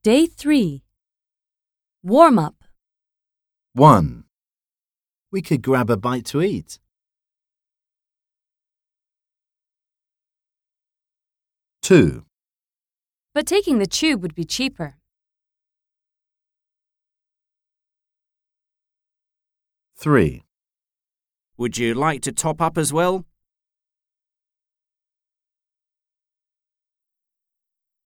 Day 3. Warm-up. 1. We could grab a bite to eat. 2. But taking the tube would be cheaper. 3. Would you like to top up as well?